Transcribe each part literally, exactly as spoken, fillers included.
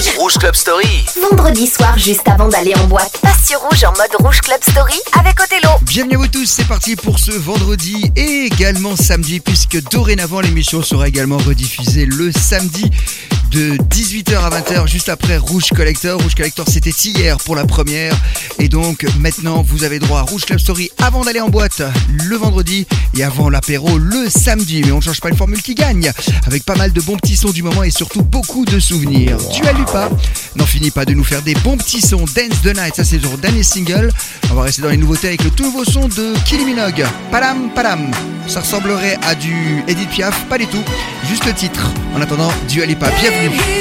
Rouge. Rouge Club Story. Vendredi soir, juste avant d'aller en boîte, passe sur Rouge en mode Rouge Club Story avec Othello. Bienvenue à vous tous, c'est parti pour ce vendredi et également samedi, puisque dorénavant l'émission sera également rediffusée le samedi de dix-huit heures à vingt heures, juste après Rouge Collector. Rouge Collector, c'était hier pour la première. Et donc maintenant, vous avez droit à Rouge Club Story avant d'aller en boîte le vendredi et avant l'apéro le samedi. Mais on ne change pas une formule qui gagne, avec pas mal de bons petits sons du moment et surtout beaucoup de souvenirs. Dua Lipa n'en finit pas de nous faire des bons petits sons. Dance the Night, ça c'est son dernier single. On va rester dans les nouveautés avec le tout nouveau son de Kylie Minogue. Padam Padam. Ça ressemblerait à du Edith Piaf, pas du tout. Juste le titre. En attendant, Dua Lipa, bienvenue.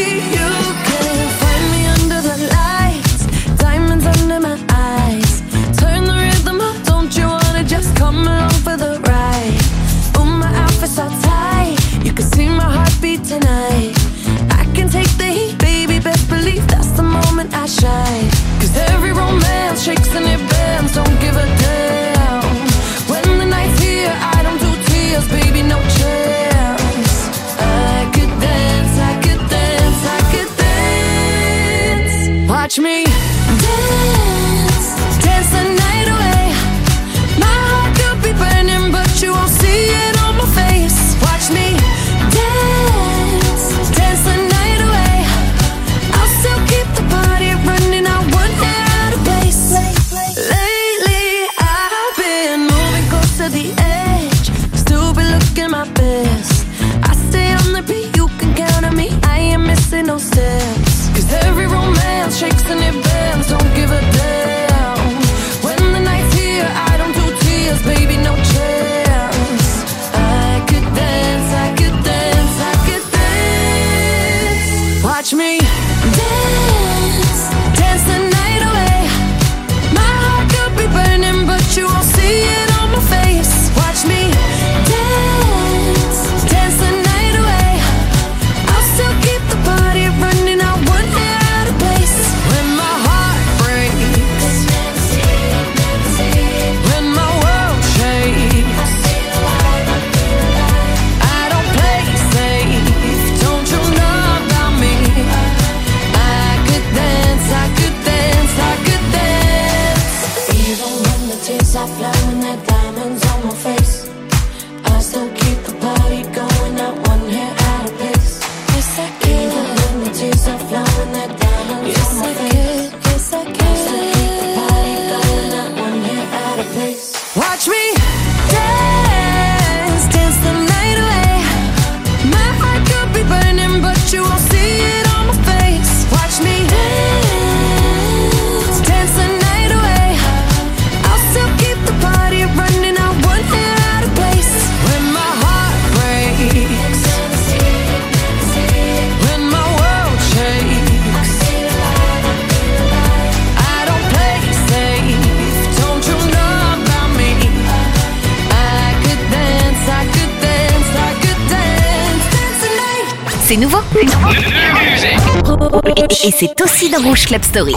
Tonight, I can take the heat, baby. Best believe that's the moment I shine. Cause every romance shakes and it bends. Don't give a damn. When the night's here, I don't do tears, baby, no chance. I could dance, I could dance, I could dance. Watch me dance, dance the night away. My heart could be burning, but you won't see it on my face. Watch me no steps. Cause every romance shakes and it bends. Don't give a damn. When the night's here, I don't do tears, baby, no chance. I could dance, I could dance, I could dance. Watch me dance, dance the night away. My heart could be burning, but you won't see it on my face. Watch me dance, dance the night away. I'll still keep the party running, I wouldn't get out of place. When my heart breaks, when my world shakes, I don't play safe, don't you know about me? I could dance, I could dance, I could dance. Even when the tears are flowing, they're diamonds on my face, I still keep the party going, not one hair out of place. Yes, I can. Even when the tears are flowing, they're diamonds yes, on my I face. Could. Yes, I can. I still keep the party going, not one hair out of place. Watch me dance, dance the night away. My heart could be burning, but you won't see it on my face. Watch me dance, dance the night away. I'll still keep the party running, not one hair out of place. When my heart breaks, when my world shakes, I don't play safe, don't you know about me? I could dance, I could dance, I could dance, dance the night. C'est nouveau. Et, et c'est aussi dans Rouge Club Story.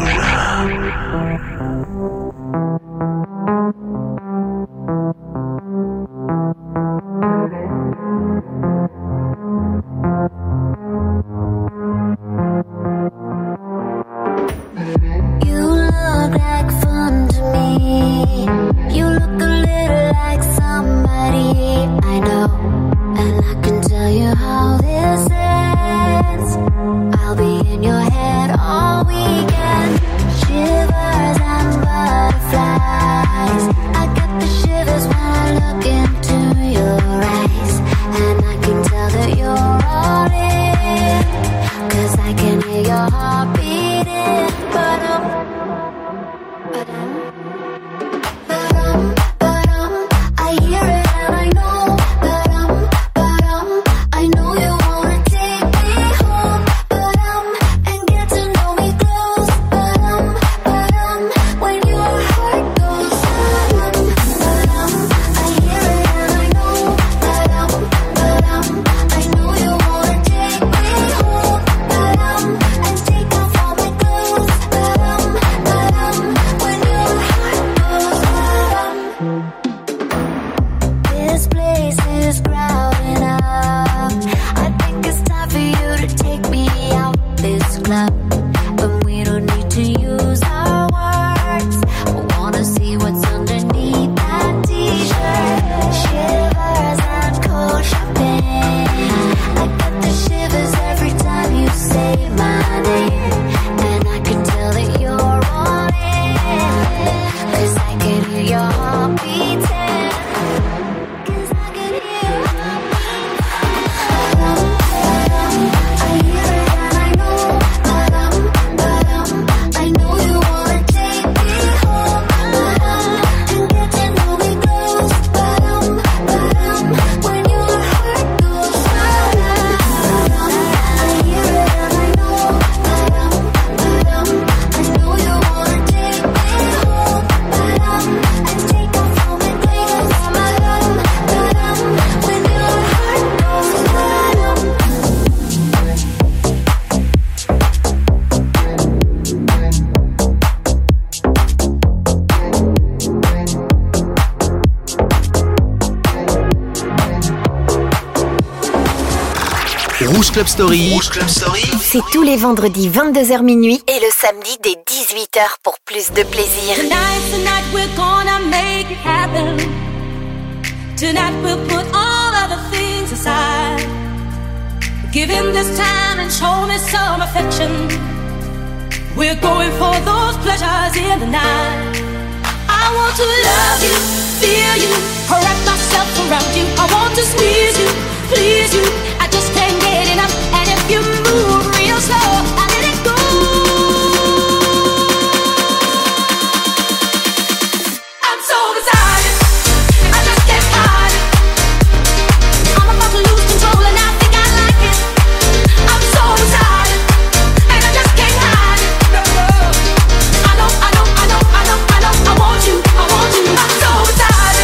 You look like fun to me. You look a little like somebody I know, and I can tell you how this ends. I'll be in your head all weekend. Shivers and butterflies. I get the shivers when I look into your eyes, and I can tell that you're all in, 'cause I can hear your heart beating. But um, but um, but um, but um, I hear it and I know. But um, but um, I know you wanna take me home. But um, and get to know me close. club, but we don't need to use our words. I wanna see what's underneath that t-shirt. Shivers and cold shopping. I get the shivers every time you say my name, and I can tell that you're on it, 'cause I can hear your heart beating. 'Cause I can hear your heart beating. I hear it and I know. I know you wanna take me home and get to know me close. When your heart goes, I hear it and I know. I know you wanna take me home and take off all my clothes. When your heart goes, Rouge Club Story. Rouge Club Story. C'est tous les vendredis vingt-deux heures minuit et le samedi dès dix-huit heures pour plus de plaisir. Tonight, tonight we're gonna make it happen. Tonight we'll put all other things aside. Give him this time and show me some affection. We're going for those pleasures in the night. I want to love you, feel you, wrap myself around you. I want to squeeze you, please you. I just can't get enough. And if you move real slow, I let it go. I'm so excited, I just can't hide it. I'm about to lose control and I think I like it. I'm so excited, and I just can't hide it. No, no. I know, I know, I know, I know, I know. I want you, I want you. I'm so excited.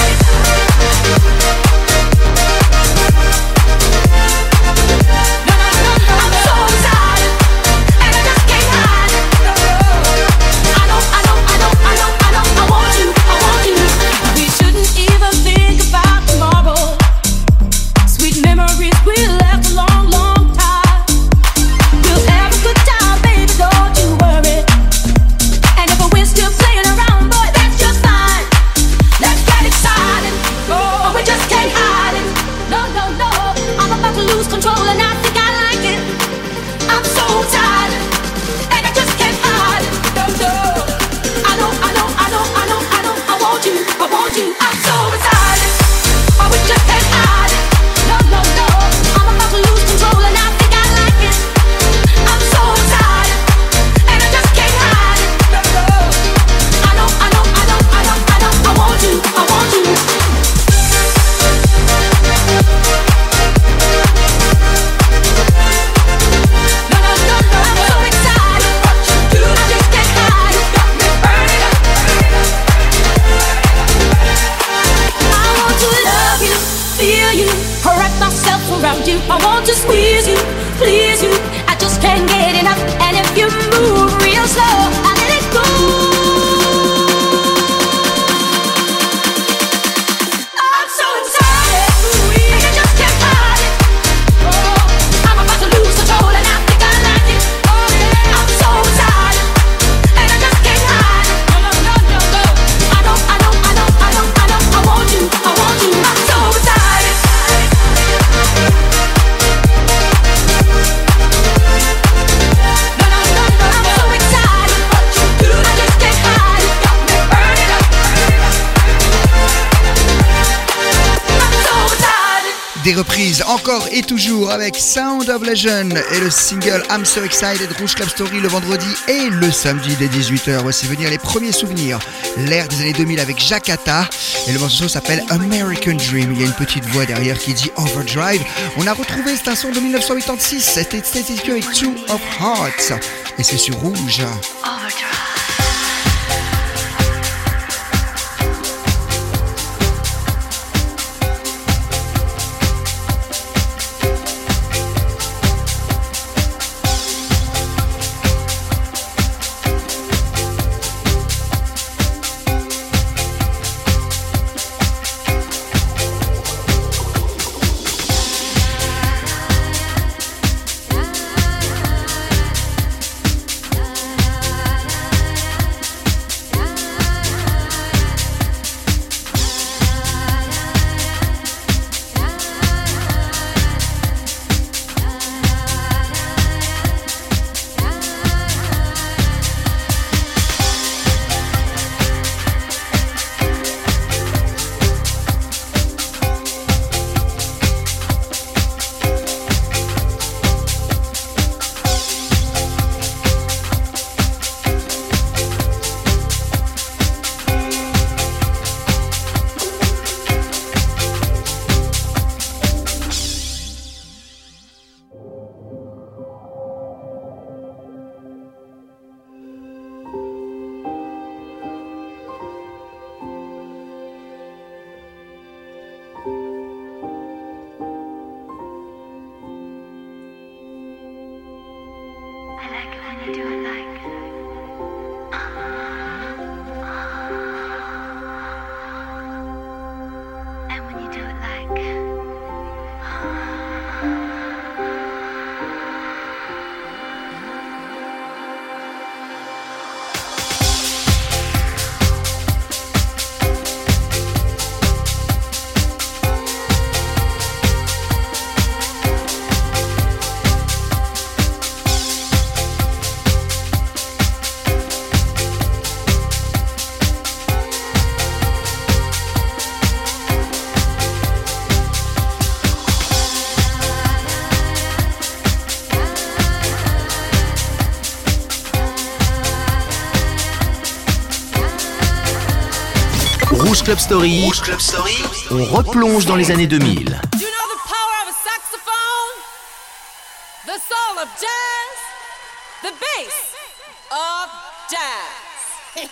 Des reprises encore et toujours avec Sound of Legend et le single I'm So Excited. Rouge Club Story le vendredi et le samedi dès dix-huit heures. Voici venir les premiers souvenirs. L'ère des années deux mille avec Jacata et le morceau s'appelle American Dream. Il y a une petite voix derrière qui dit Overdrive. On a retrouvé cet un son de dix-neuf cent quatre-vingt-six. C'était Static avec Two of Hearts et c'est sur Rouge. Overdrive. Rouge Club Story. Rouge Club Story. On replonge dans les années deux mille. You know the power of a saxophone? The soul of jazz? The bass of jazz.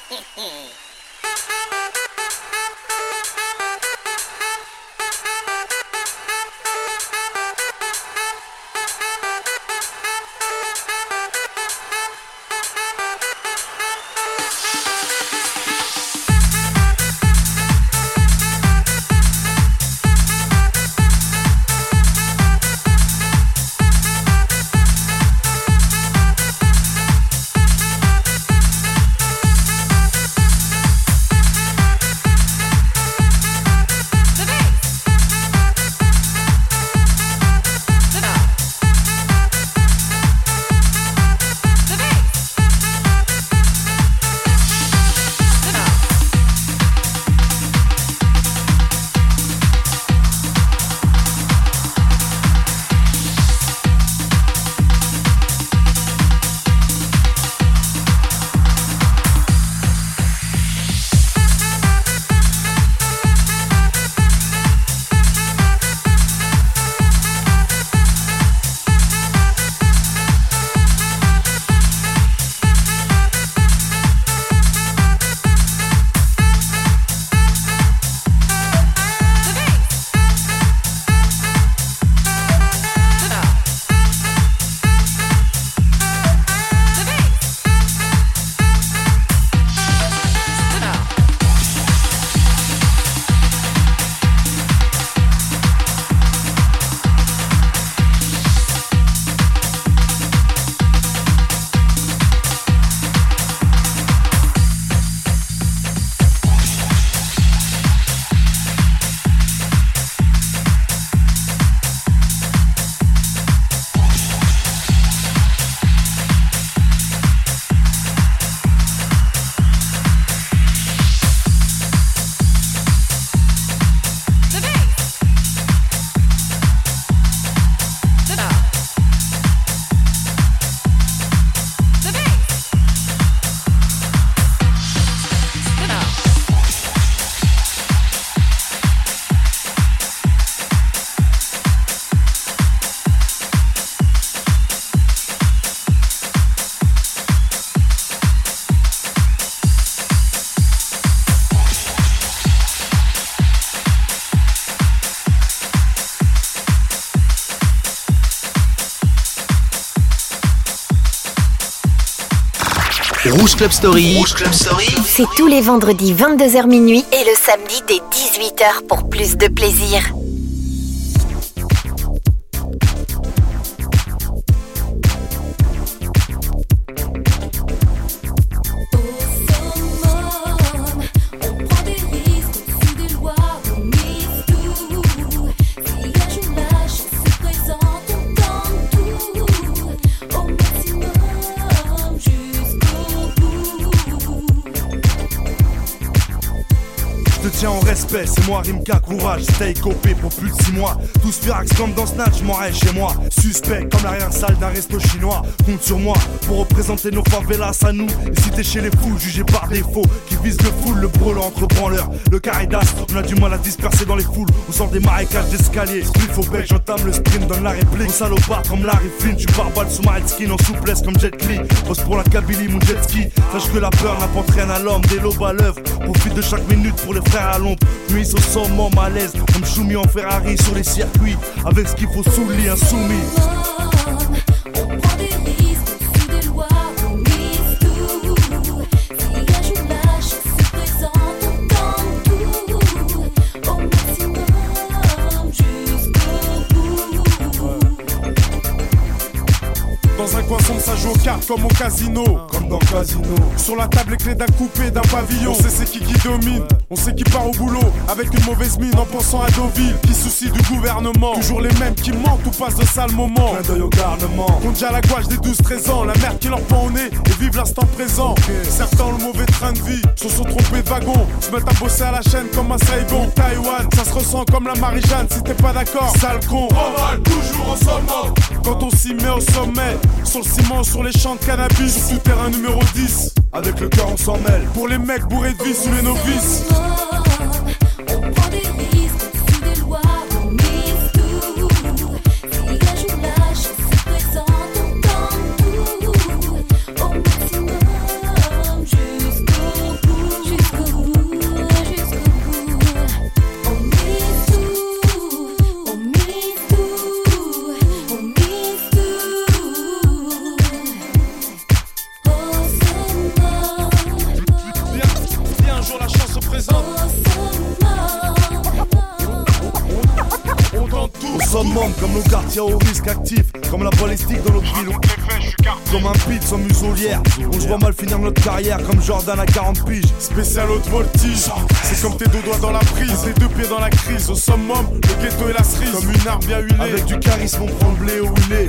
Rouge Club Story. Rouge Club Story. C'est tous les vendredis vingt-deux heures minuit et le samedi dès dix-huit heures pour plus de plaisir. En respect, c'est moi Rimka, courage, stay copé pour plus de six mois. Tous furax comme dans Snatch, je m'en rêve chez moi. Suspect comme l'arrière-salle d'un resto chinois. Compte sur moi pour représenter nos favelas à nous. Et si t'es chez les fous, jugé par défaut, qui vise le full, le brûlant entre branleurs. Le caridas, on a du mal à disperser dans les foules. On sort des marécages d'escalier. Spliff au bec, j'entame le sprint, donne la réplique. On salopard comme Larry Flynn, tu barbales sous ma skin en souplesse comme Jet Li. Bosse pour la Kabylie, mon jet ski. Sache que la peur n'apporte rien à l'homme, des lobes à l'œuvre. Profite de chaque minute pour les frères à l'ombre. Nuit au sommet, malaise, comme Choumi en Ferrari sur les circuits. Avec ce qu'il faut sous le lit, insoumis. On prend des risques, on suit des lois, on cinq coins sombres, ça joue aux cartes comme au casino. Comme dans Casino. Sur la table, les clés d'un coupé, d'un pavillon. On sait c'est qui qui domine, on sait qui part au boulot. Avec une mauvaise mine en pensant à Deauville. Qui soucie du gouvernement. Toujours les mêmes qui mentent ou passent de sales moments. Clin d'œil au garnement. Compte déjà la gouache des douze treize ans. La mère qui leur pend au nez et vive l'instant présent. Okay. Certains ont le mauvais train de vie, se sont trompés de wagon. Se mettent à bosser à la chaîne comme un Saigon. Taïwan, ça se ressent comme la Marie-Jeanne. Si t'es pas d'accord, sale con. On va toujours au sommet. Quand on s'y met au sommet, sur le ciment, sur les champs de cannabis, sur terrain numéro dix. Avec le cœur on s'en mêle. Pour les mecs bourrés de vie sous les novices. On prend des risques, sous des lois, on mise tout. Si un jour la chance se présente, on tente tout. Au maximum, jusqu'au bout, jusqu'au bout, jusqu'au bout. On mise tout, on mise tout, on mise tout. Au sommet. Si un jour la chance se présente, on tente tout. Au summum, comme nos quartiers au risque actif, comme la balistique dans notre ville. Comme un pit sans muselière. On se voit mal finir notre carrière comme Jordan à quarante piges. Spécial haute voltige. C'est comme tes deux doigts dans la prise, les deux pieds dans la crise. Au summum, le ghetto et la cerise. Comme une arme bien huilée. Avec du charisme, on prend le blé où il est.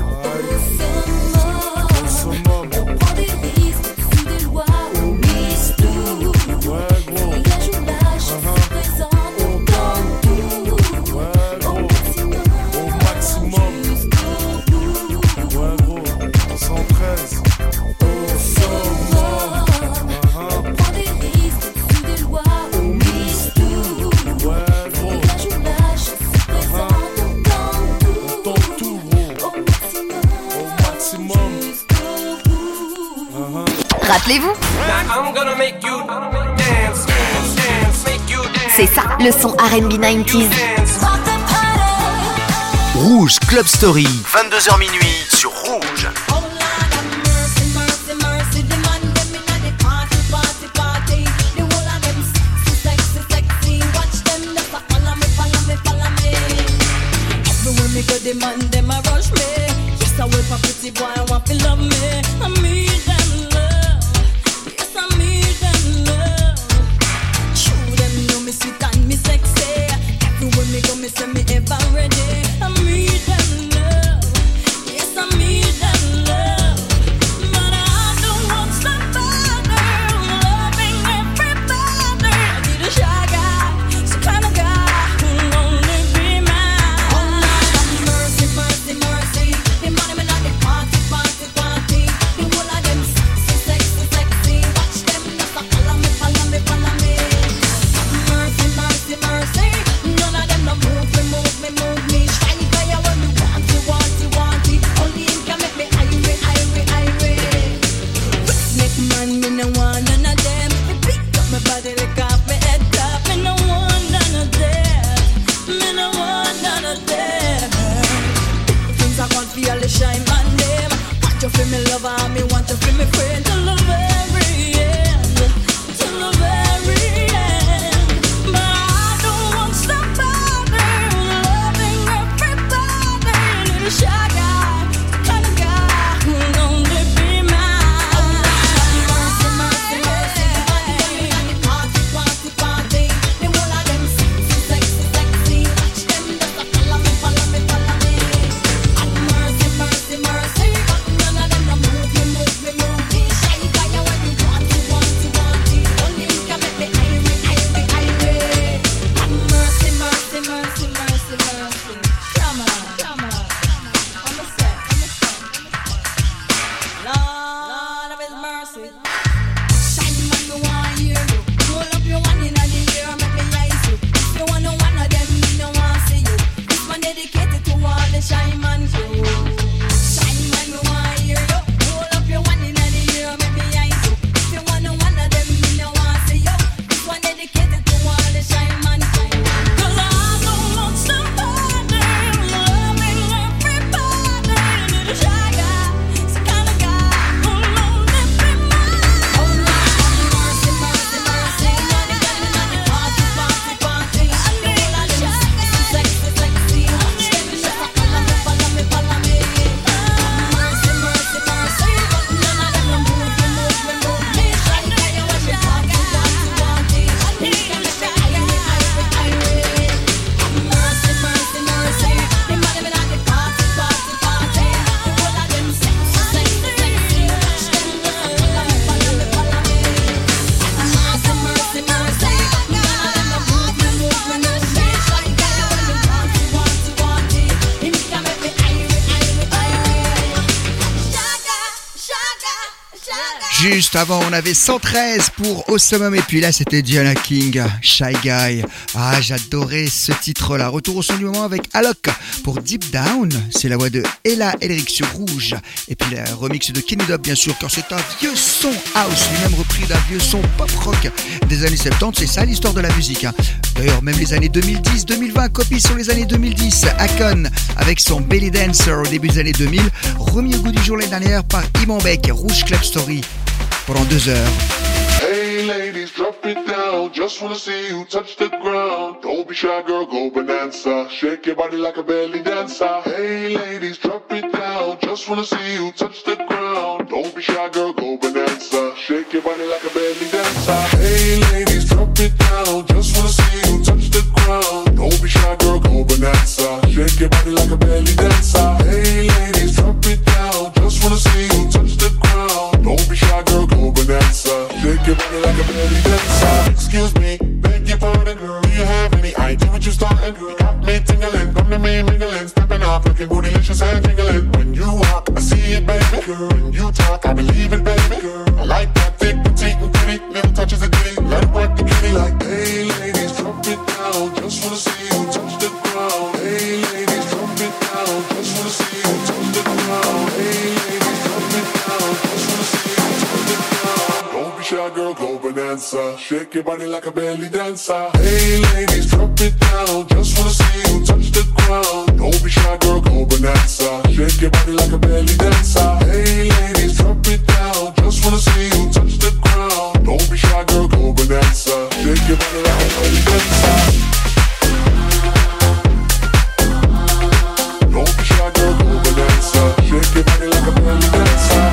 Au summum, on prend des risques, sous des lois, on mise tout. Ouais, gros. Si un jour la chance se présente, on tente tout. Ouais, gros. Au maximum, Au maximum. jusqu'au bout. Ouais, gros. cent treize. Au summum. On prend des risques, sous des lois, on mise tout. Ouais, Si gros. un jour la chance se présente, on tente tout. On tente tout, gros. Au maximum, Au maximum. jusqu'au bout. Rappelez-vous, I'm gonna make you dance, dance, make you dance. c'est ça le son R and B quatre-vingt-dix. Dance. Rouge Club Story, vingt-deux heures minuit sur Rouge. Oh Lord have mercy, mercy, mercy. The man them inna the party, party, party. The whole of them sexy, sexy, sexy. Watch them just a follow me, follow me, follow me. Everywhere me go, the man them a rush me. Yes, I wait for pretty boy, I want to love me. I need them love. Yes, I need them love. True, them know me sweet and me sexy. Everywhere me go, me say me ever ready. I need them love. Yes, I need them love. But I don't want somebody loving everybody. I need a shy guy, some kind of guy who'll only be mine. Oh Lord have mercy, mercy, mercy. The money me not the party, party, party. The whole of them sexy, sexy, sexy. Watch them just a follow me, follow me, follow me. Mercy, mercy, mercy. None of them no move me, move me, move me. Shy guy when me want it, want it, want it. Only him can make me irate, irate, irate. Make man, me no want none of them. Me pick up my body, lick off my head top. Me no want none of them. Me no want none of them. Things I want feel the shine on them. Want you feel me lover, me want you feel me friend till the very end, till the very end. But I don't want somebody loving everybody. Need a shy guy, the kind of guy who'll only be mine. Mercy, mercy, mercy. The money party, party, party. The whole of them sexy, sexy, sexy. Watch them just a follow me, follow me, follow me. And mercy, mercy, mercy. None of them no move me, move me, move me. Shy guy when you want, you want. Juste avant, on avait cent treize pour Au Summum et puis là, c'était Diana King, Shy Guy. Ah, j'adorais ce titre-là. Retour au son du moment avec Alok pour Deep Down. C'est la voix de Ella Elric sur Rouge. Et puis le remix de Kenny Dub, bien sûr, car c'est un vieux son house, lui-même repris d'un vieux son pop rock des années soixante-dix. C'est ça l'histoire de la musique. Hein. D'ailleurs, même les années deux mille dix, deux mille vingt, copie sur les années deux mille dix. Akon avec son Belly Dancer au début des années deux mille, remis au goût du jour l'année dernière par Iman Beck, Rouge Club Story. Pendant deux heures. Hey ladies, drop it down. Just wanna see you touch the ground. Don't be shy, girl, go bonanza. Shake your body like a belly dancer. Hey ladies, drop it down. Just wanna see you touch the ground. Don't be shy, girl, go bonanza. Shake your body like a belly dancer. Hey ladies, drop it down. Just wanna see you touch the ground. Don't be shy, girl, go bonanza. Shake your body like a belly dancer. Hey ladies, drop it down. Just wanna see you touch the ground. Don't be shy, girl, go bonanza. Shake your body like a belly dancer. Excuse me, beg your pardon, girl. Do you have any idea what you're starting, girl? Got me tingling, come to me mingling, stepping off, looking bootylicious and tingling. When you walk, I see it, baby, girl. When you talk, I believe it, baby, girl. I like that thick, petite, and pretty. Little touches of ditty, let it work the kitty. Like, hey, ladies, drop it down. Just wanna see you touch the ground. Hey, ladies, drop it down. Just wanna see you touch the ground. Hey, ladies, drop it down. Just wanna see you touch the ground. Don't be shy, girl, go bonanza. Shake your body like a belly dancer. Hey, ladies, drop it down. Just wanna see you touch the ground. Don't be shy, girl, go bonanza. Shake your body like a belly dancer. Hey, ladies, drop it down. Just wanna see you touch the ground. Don't be shy, girl, go bonanza. Shake your body like a belly dancer. Don't be shy, girl, go bonanza. Shake your body like a belly dancer.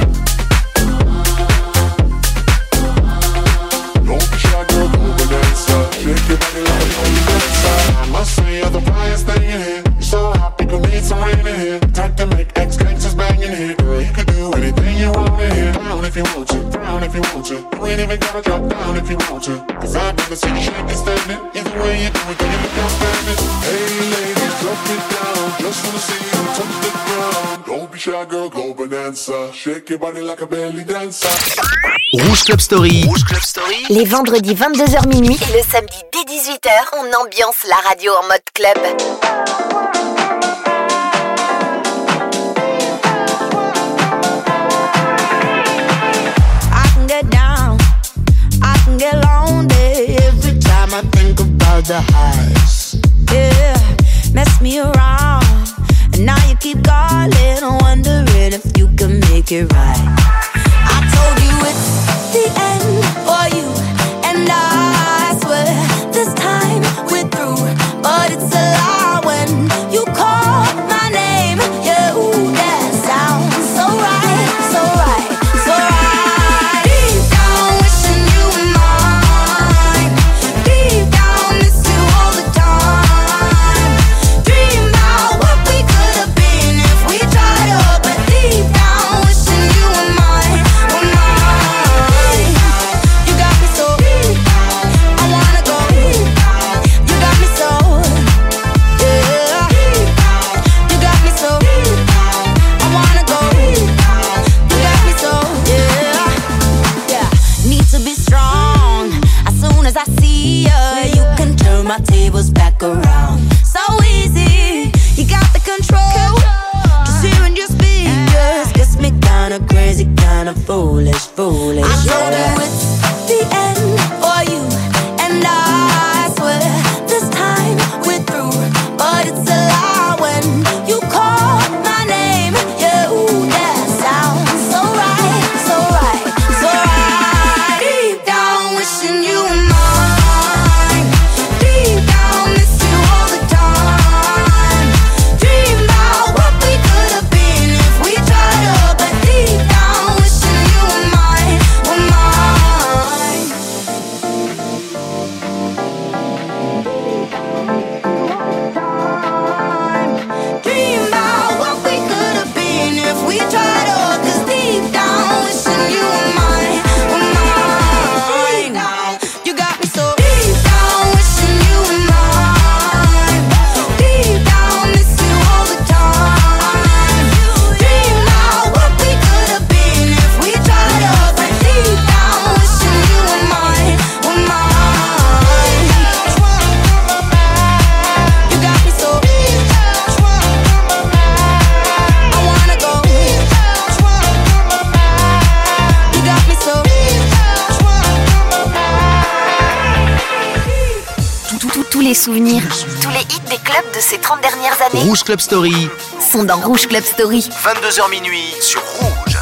Don't be shy, girl, go bonanza. Shake your body like a belly dancer. I must say you're the brightest thing in here. You're so hot, people need some rain in here. Time to make ex-gangsters bang in here. Girl, you could do anything you want in here. Down if you want to, down if you want to. You ain't even gotta drop down if you want to. Cause I've never seen you shake and stand it. Either way you do it, then you look outstanding. Hey ladies, drop it down. Just wanna see you touch the ground. Don't be shy, girl, go bonanza. Shake your body like a belly dancer. Rouge Club Story. Rouge Club Story. Les vendredis vingt-deux heures minuit et le samedi dès dix-huit heures, on ambiance la radio en mode club. I can get down, I can get lonely every time I think about the highs. Yeah, mess me around, and now you keep calling, wondering if you can make it right. I told you it's the end for you, and I swear this time we're through. But it's a lie when you call my name. Yeah, ooh, that sounds so right, so right, so right. Deep down, wishing you were mine. Deep down, miss you all the time. Dream about what we could have been if we tried up. But deep down, wishing you were mine, were mine. You got me so, I wanna go. You got me so, yeah. You got me so, I wanna go. You got me so, yeah. Yeah. Need to be strong. As soon as I see ya, you can turn my tables back around. So easy, you got the control. Just hearing your speakers gets me kinda crazy, kinda foolish, foolish. I told you it's the end for you, and I swear this time we're through. But it's a lie when you call my name. Yeah, ooh, that sounds so right, so right, so right. Deep down, wishing you were mine. Deep down, miss you all the time. Dream about what we could have been if we tried up. But deep down, wishing you were mine, were mine. tous les souvenirs, tous les hits des clubs de ces trente dernières années Rouge Club Story, sont dans Rouge Club Story. vingt-deux heures minuit sur Rouge.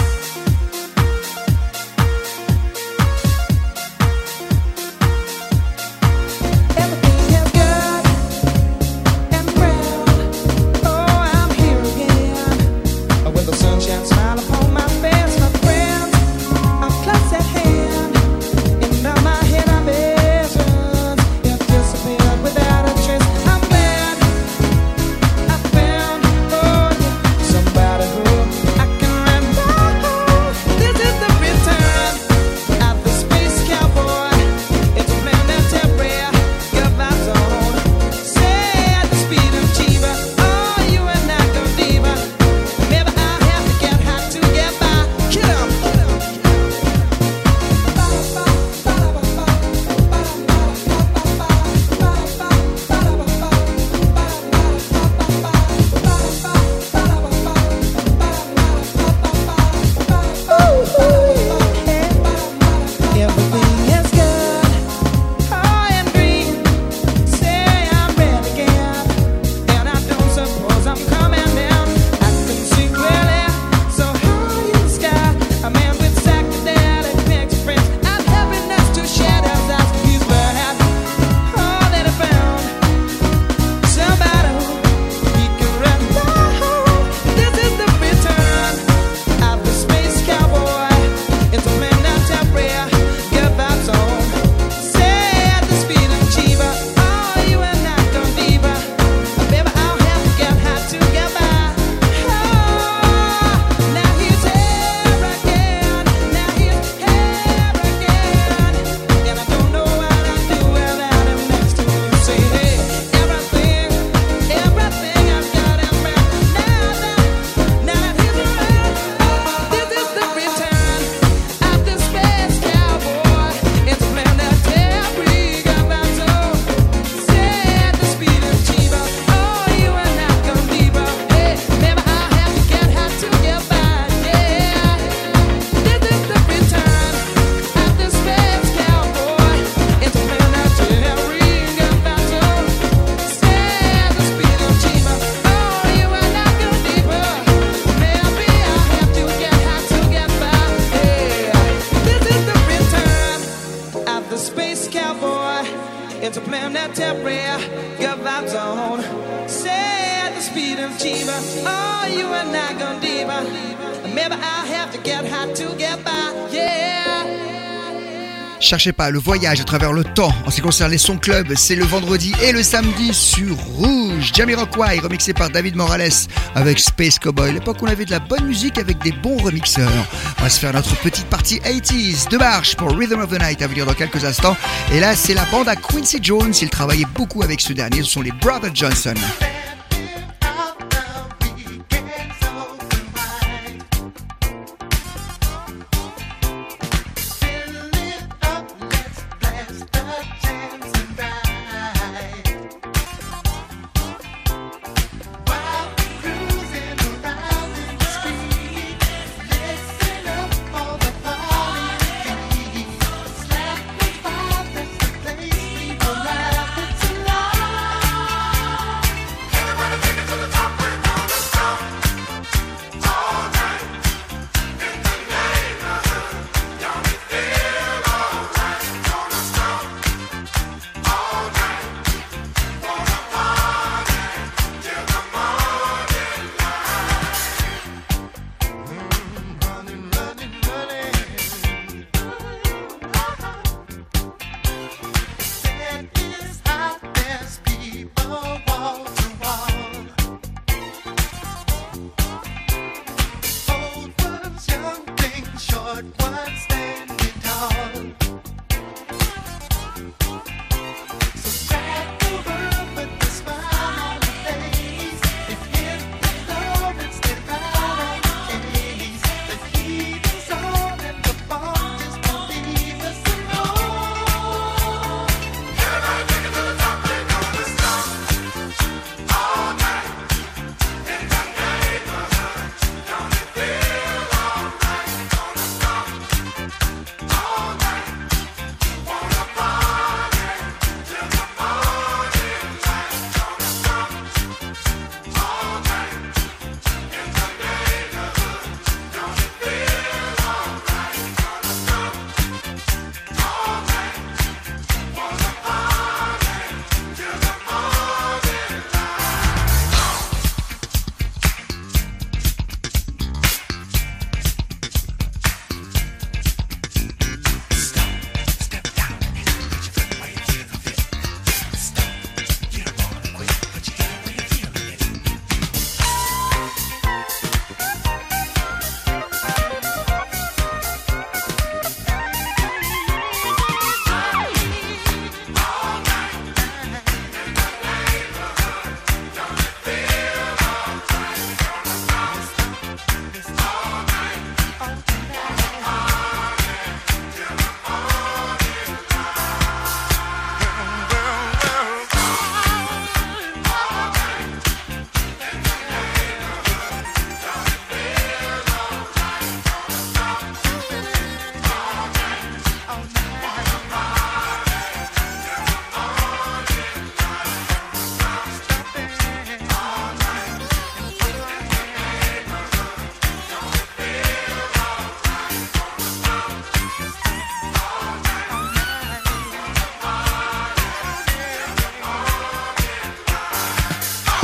Cherchez pas, le voyage à travers le temps en ce qui concerne les sons club, c'est le vendredi et le samedi sur Rouge. Jamiroquai remixé par David Morales avec Space Cowboy. L'époque où on avait de la bonne musique avec des bons remixeurs. On va se faire notre petite partie quatre-vingt-dix de marche pour Rhythm of the Night à venir dans quelques instants. Et là, c'est la bande à Quincy Jones. Il travaillait beaucoup avec ce dernier. Ce sont les Brothers Johnson.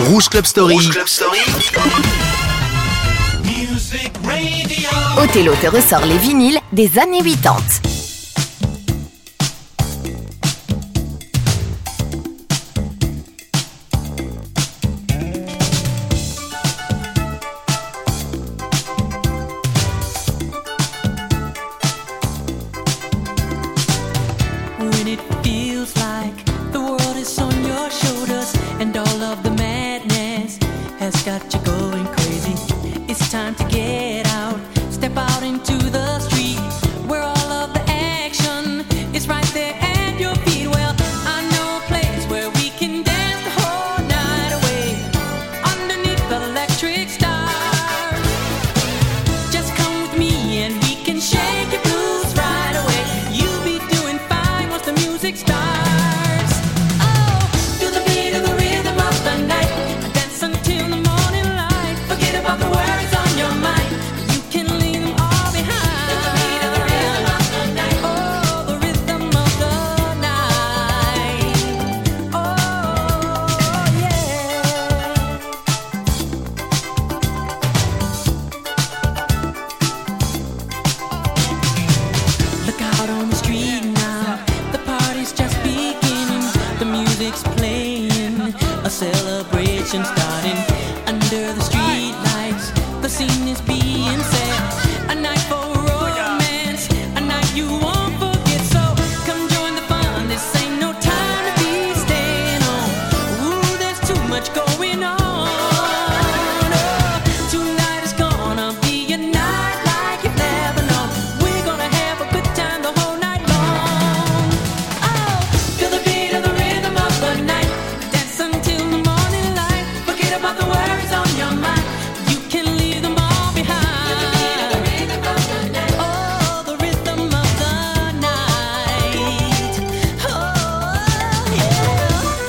Rouge Club Story. Rouge Club Story. Othello te ressort les vinyles des années quatre-vingt-dix. When it feels like the world is on your shoulders and all of the madness has got you going crazy, it's time to get out, step out into the street where all of the action is right there at your feet. Well, I know a place where we can dance the whole night away underneath the electric stars. Just come with me and we can shake your blues right away. You'll be doing fine once the music starts. Oh, to the beat of the rhythm of the night, dance until the morning light. Forget about the worries on your mind. You can leave them all behind. To the beat of the rhythm of the night. Oh, the rhythm of the night. Oh, yeah. Look out on the street now, the party's just beginning. The music's playing, a celebration starting. Under the street lights, the scene is being set. A night for romance, a night you won't forget. So come join the fun, this ain't no time to be staying home. Ooh, there's too much going on. Oh, tonight is gonna be a night like you've never known. We're gonna have a good time the whole night long. Oh, feel the beat of the rhythm of the night, dance until the morning light. Forget about the worries on your mind. You can leave them all behind. Oh, the rhythm of the night. Oh, yeah.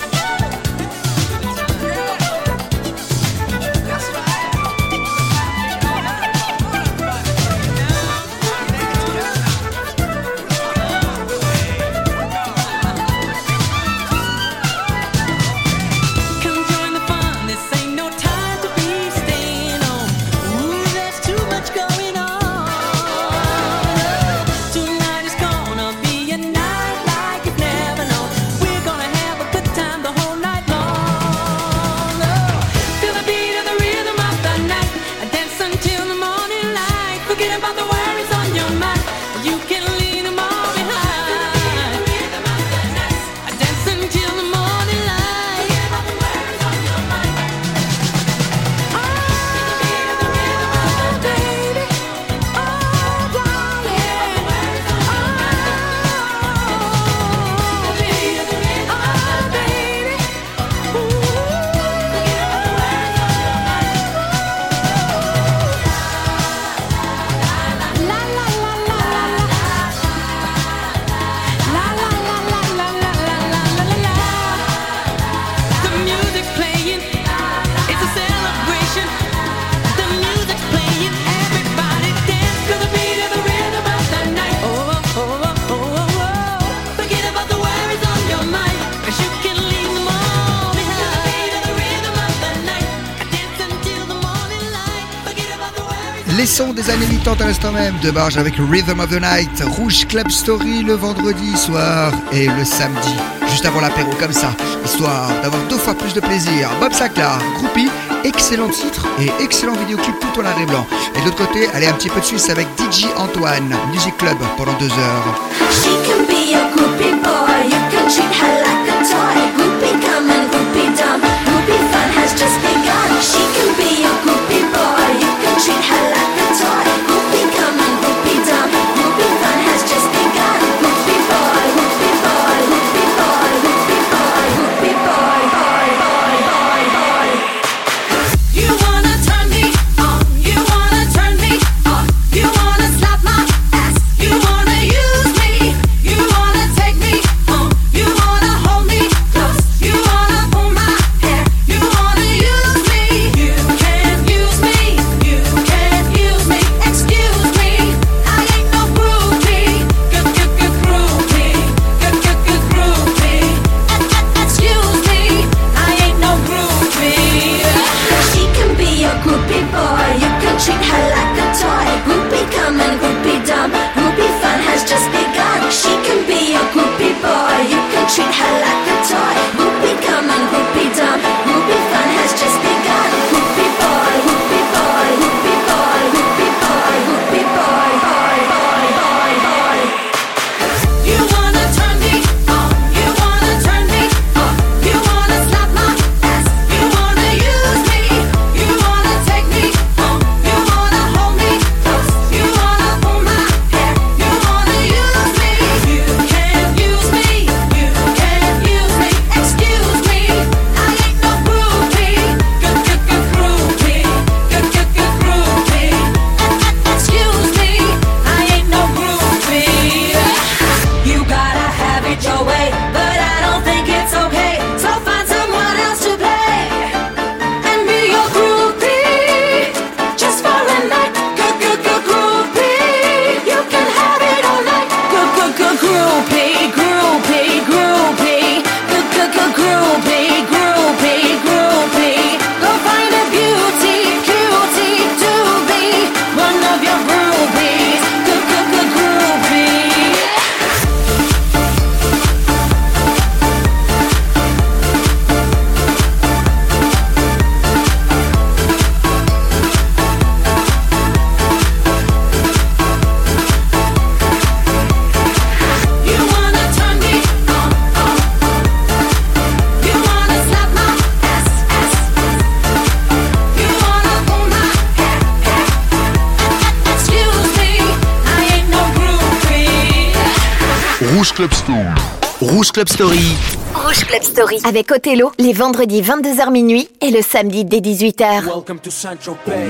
Come join the fun, this ain't no time to be staying home. Ooh, there's too much going on. Tonight is gonna be a night like you've never known. We're gonna have a good time the whole night long. Oh, feel the beat of the rhythm of the night, dance until the morning light. Forget about the worries on your mind. You can leave them all behind. Dance until the morning light. Forget about the worries on your mind. Oh, baby. Oh, darling. Oh, baby. Oh, baby. La la la la la la la la la la la la la la la. The music's playing, it's a celebration. The music's playing, everybody dance to the beat of the rhythm of the night. Oh oh oh oh oh oh. Forget about the worries on your mind, 'cause you can leave them all behind. To the beat of the rhythm of the night, dance until the morning light. Forget about the worries. Les sons des années quatre-vingt-dix à l'instant même de Barge avec Rhythm of the Night, Rouge Club Story le vendredi soir et le samedi, juste avant l'apéro comme ça, histoire d'avoir deux fois plus de plaisir. Bob Sinclair, groupie, excellent titre et excellent vidéoclip tout en noir et blanc. Et de l'autre côté, allez un petit peu de Suisse avec D J Antoine, Music Club pendant deux heures. She can be a groupie boy, you can treat her like a toy. Groupie come and groupie dumb, groupie fun has just begun. She can be a groupie boy, you can treat her like a toy. Groupie come and groupie dumb, groupie fun has just begun. Groupie boy, groupie boy, groupie boy, groupie boy, groupie boy, boy, boy, boy, boy. You wanna turn me on, you wanna turn me on, you wanna slap my ass, you wanna use me, you wanna take me on, you wanna hold Rouge Club Story. Rouge Club Story. Rouge Club Story avec Othello les vendredis vingt-deux heures minuit et le samedi dès dix-huit heures. Welcome to Saint-Tropez.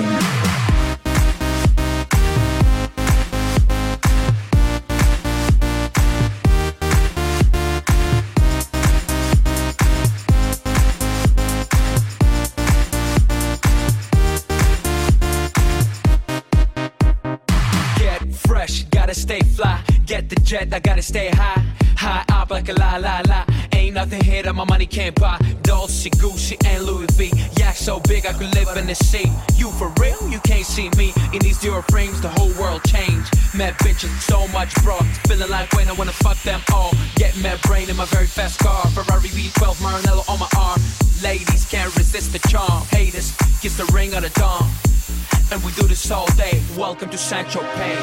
Gotta stay fly, get the jet, I gotta stay high. High up like a la la la. Ain't nothing here that my money can't buy. Dolce, Gucci, and Louis V. Yeah, so big I could live in the sea. You for real? You can't see me. In these Dior frames, the whole world changed. Mad bitches, so much bro. Feeling like when I wanna fuck them all. Get mad brain in my very fast car. Ferrari V twelve, Maranello on my arm. Ladies can't resist the charm. Haters, kiss the ring of the dawn. And we do this all day. Welcome to Saint-Tropez.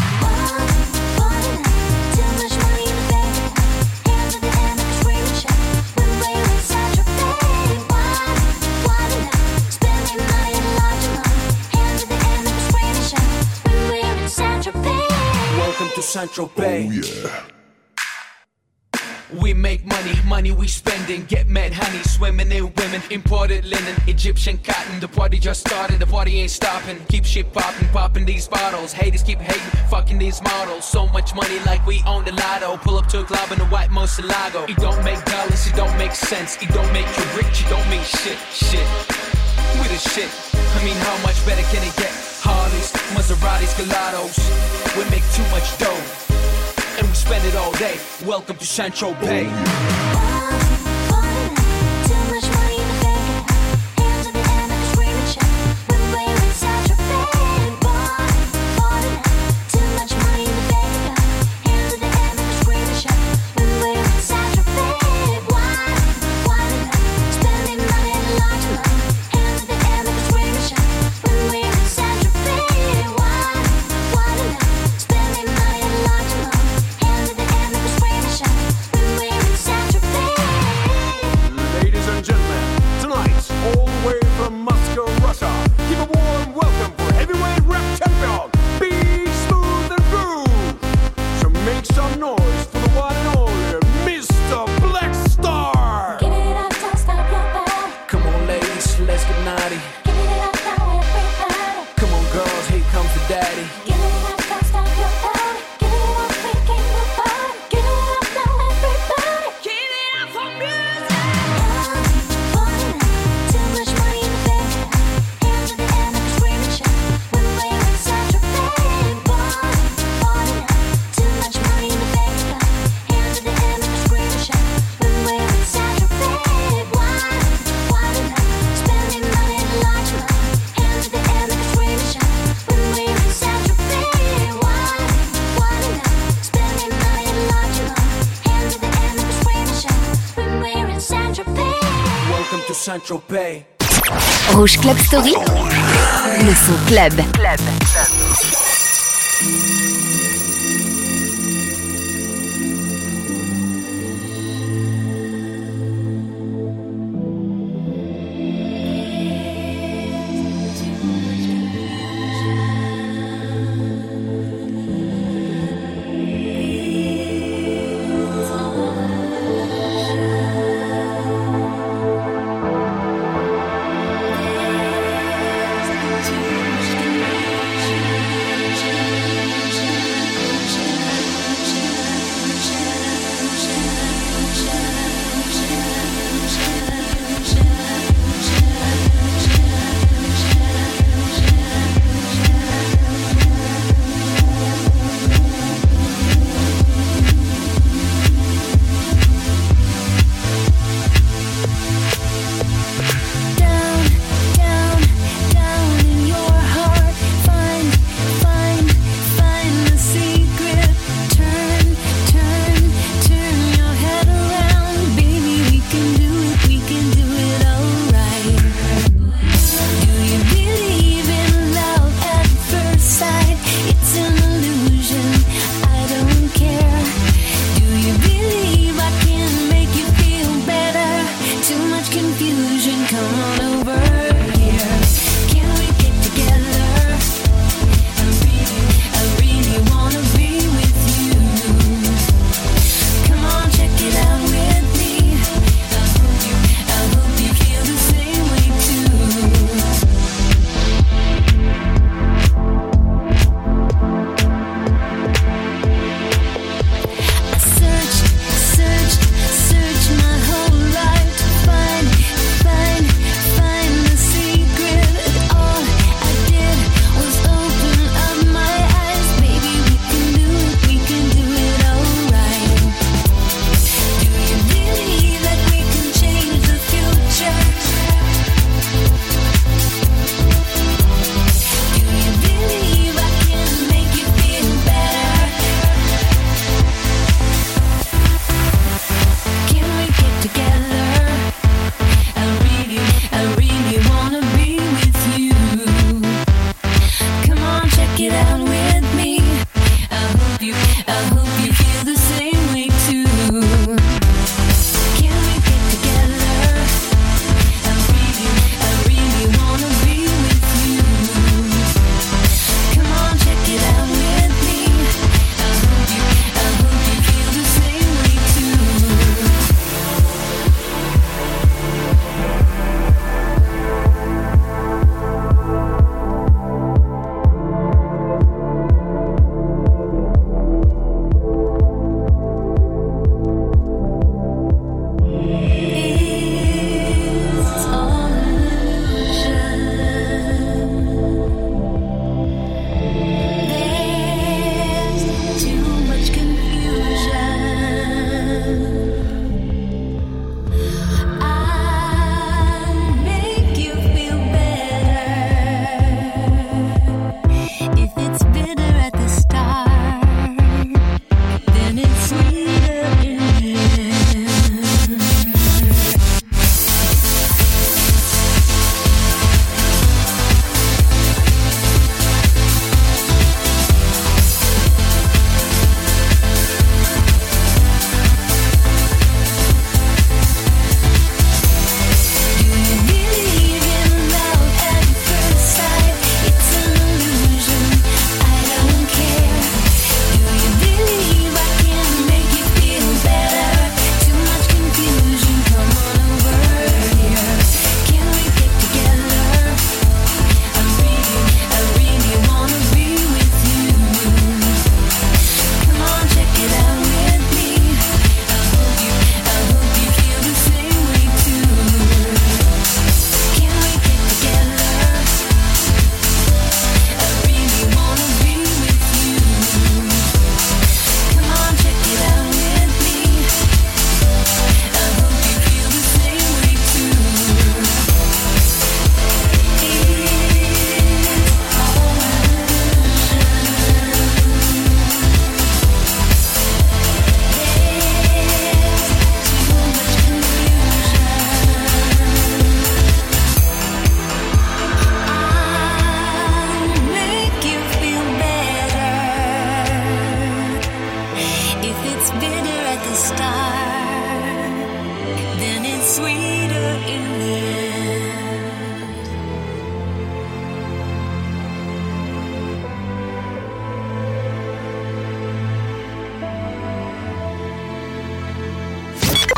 Welcome to Saint-Tropez. Oh yeah. We make money, money we spending. Get mad honey, swimming in women. Imported linen, Egyptian cotton. The party just started, the party ain't stopping. Keep shit popping, popping these bottles. Haters keep hating, fucking these models. So much money like we own the lotto. Pull up to a club in a white Moselago. It don't make dollars, it don't make sense. It don't make you rich, it don't mean shit, shit. We the shit, I mean how much better can it get? Harleys, Maseratis, Gelatos. We make too much dough and we spend it all day. Welcome to Saint-Tropez. Saint-Tropez. Rouge Club Story. Le son club. Club. Thank you.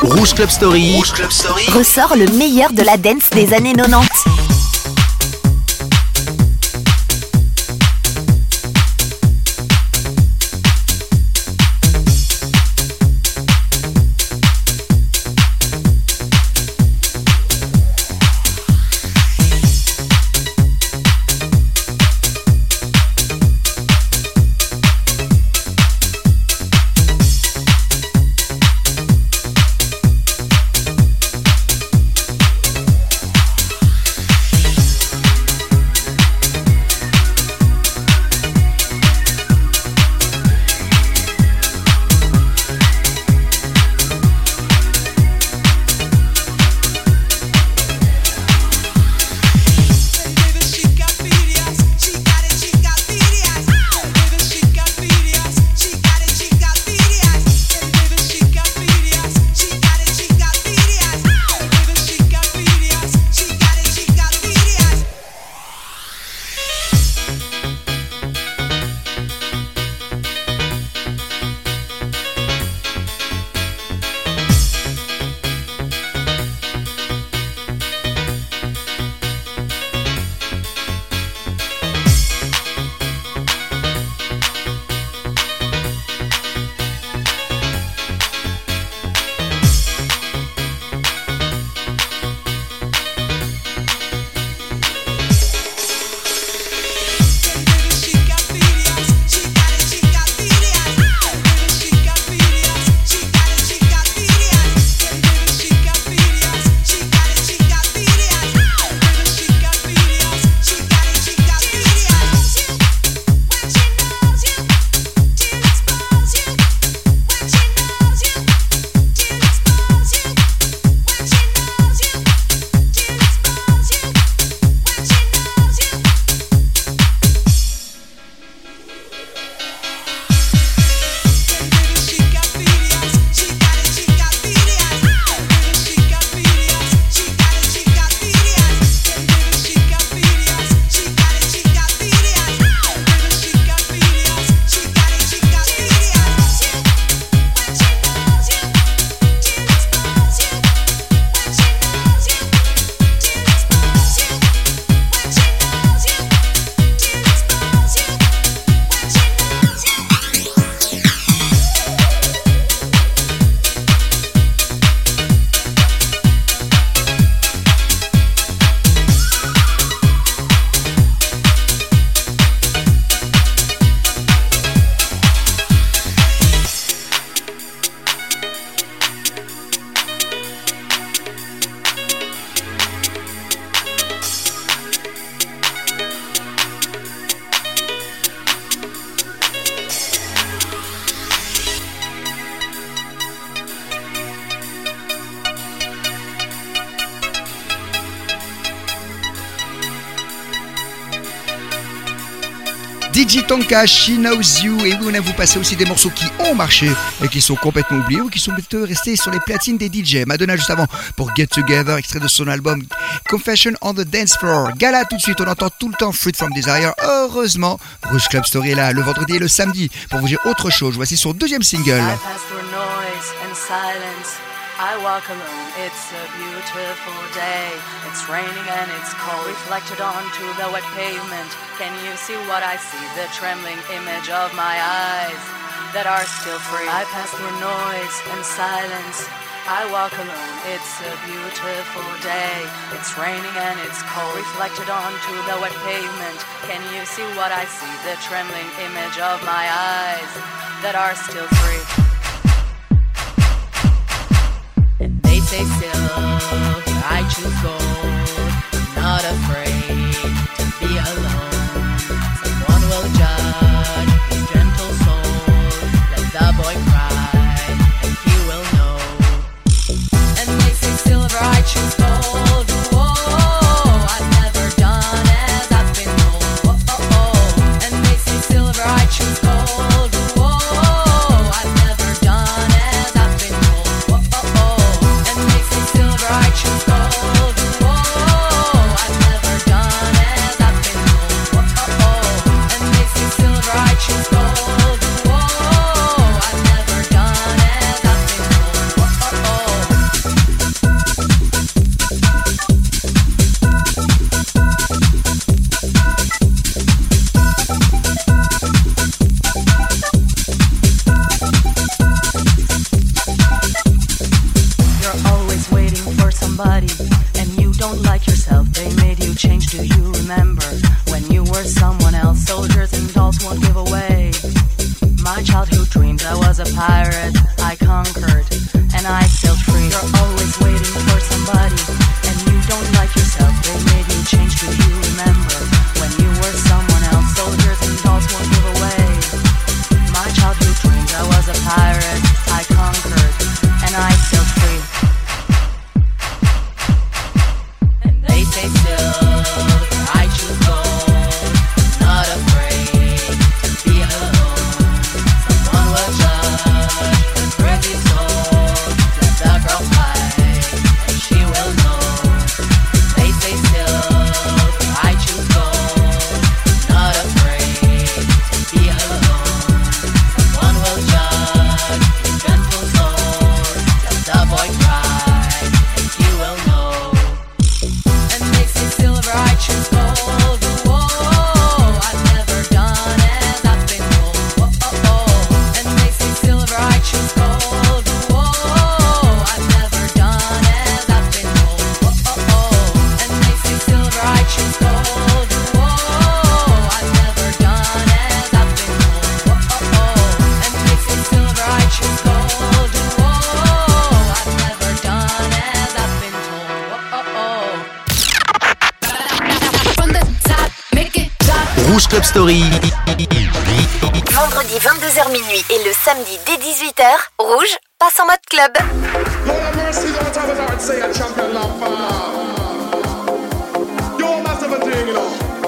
Rouge Club Story. Rouge Club Story. Ressort le meilleur de la dance des années quatre-vingt-dix. D J Tonka, She Knows You. Et oui, on a vous passer aussi des morceaux qui ont marché et qui sont complètement oubliés ou qui sont plutôt restés sur les platines des D J. Madonna juste avant pour Get Together, extrait de son album Confession on the Dance Floor. Gala tout de suite, on entend tout le temps Fruit from Desire. Heureusement, Rouge Club Story est là le vendredi et le samedi pour vous dire autre chose. Voici son deuxième single. I walk alone, it's a beautiful day. It's raining and it's cold, reflected onto the wet pavement. Can you see what I see? The trembling image of my eyes that are still free. I pass through noise and silence. I walk alone, it's a beautiful day. It's raining and it's cold, reflected onto the wet pavement. Can you see what I see? The trembling image of my eyes that are still free. Say still, I choose gold. I'm not afraid to be alone. Someone will judge his gentle soul. Let the boy cry, and he will know. And they say silver, I choose gold. Whoa, I've never done as I've been told. Whoa, oh, oh. And they say silver, I choose gold. Whoa, I've never done as I've been told. Whoa, oh, oh. I choose gold. Whoa, I've never done as I've been told. dreams. I was a pirate, I conquered, and I sailed free. You're always waiting for somebody, and you don't like yourself. They made you change, do you remember? When you were someone else, soldiers and dolls won't give away my childhood dreams. I was a pirate, I conquered, and I sailed free. And they say still, I choose gold, not afraid to be alone. Someone will judge this crazy soul. Let the girl fight, and she will know. They say still, I choose gold, not afraid to be alone. Someone will judge this gentle soul. Let the boy cry, and he will know. And they say silver, I choose gold. Whoa, I've never done as I've been told. Whoa, oh, oh. And they say silver, I choose gold. Whoa, I've never done as I've been told. Whoa, oh, oh. And they say silver, I choose gold. Whoa, I've never done as I've been told. Whoa, oh, oh. And they say silver, I choose gold. Whoa, I've never done as I've been told. Whoa, oh, oh. From the top, make it drop. Rouge Club Story. Vendredi vingt-deux heures minuit et le samedi dès dix-huit heures, Rouge passe en mode club. Lord have mercy, don't have a heart, say a champion love for you must have a thing, you know.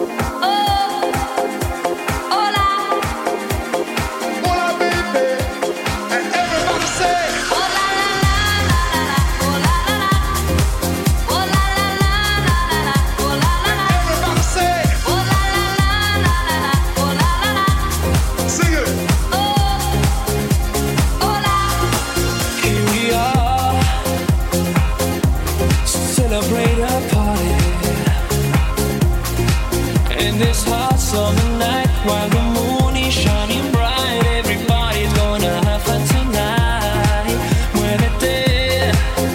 Hola, baby, and everybody say, everybody say, sing it. Here we are, celebrate a party in this hot summer night while the moon is shining bright. Everybody's gonna have fun tonight. Muévete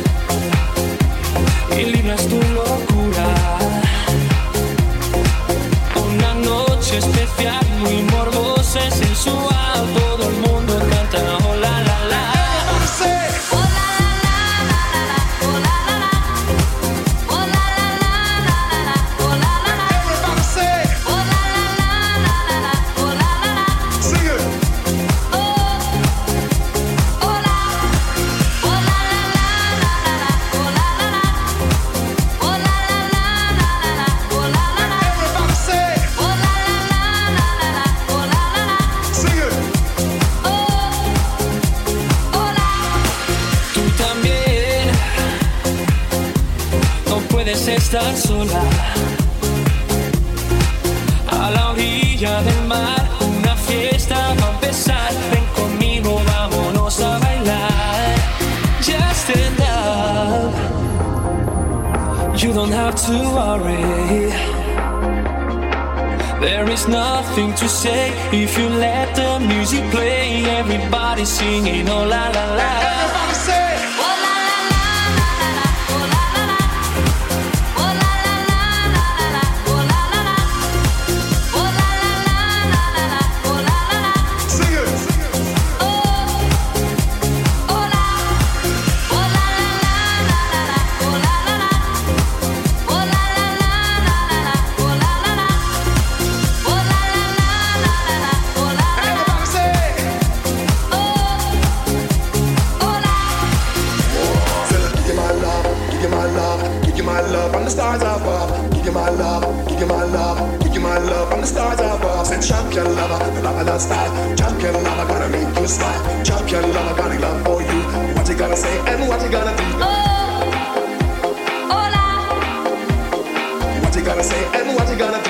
y libras tu locura. Una noche especial, muy morbosa y sensual. Todo el mundo canta oh la la la. Tú también no puedes estar sola. A la orilla del mar, una fiesta va a empezar. Ven conmigo, vámonos a bailar. Just stand up. You don't have to worry. There is nothing to say if you let the music play. Everybody singing oh la la la. Everybody say stars above. Give you my love, give you my love, give you my love from the stars above. Said champion lover, the love of that style. Champion lover, gonna make you smile. Champion lover, got a love for you. What you gonna say and what you gonna do? Oh, hola. What you gonna say and what you gonna do?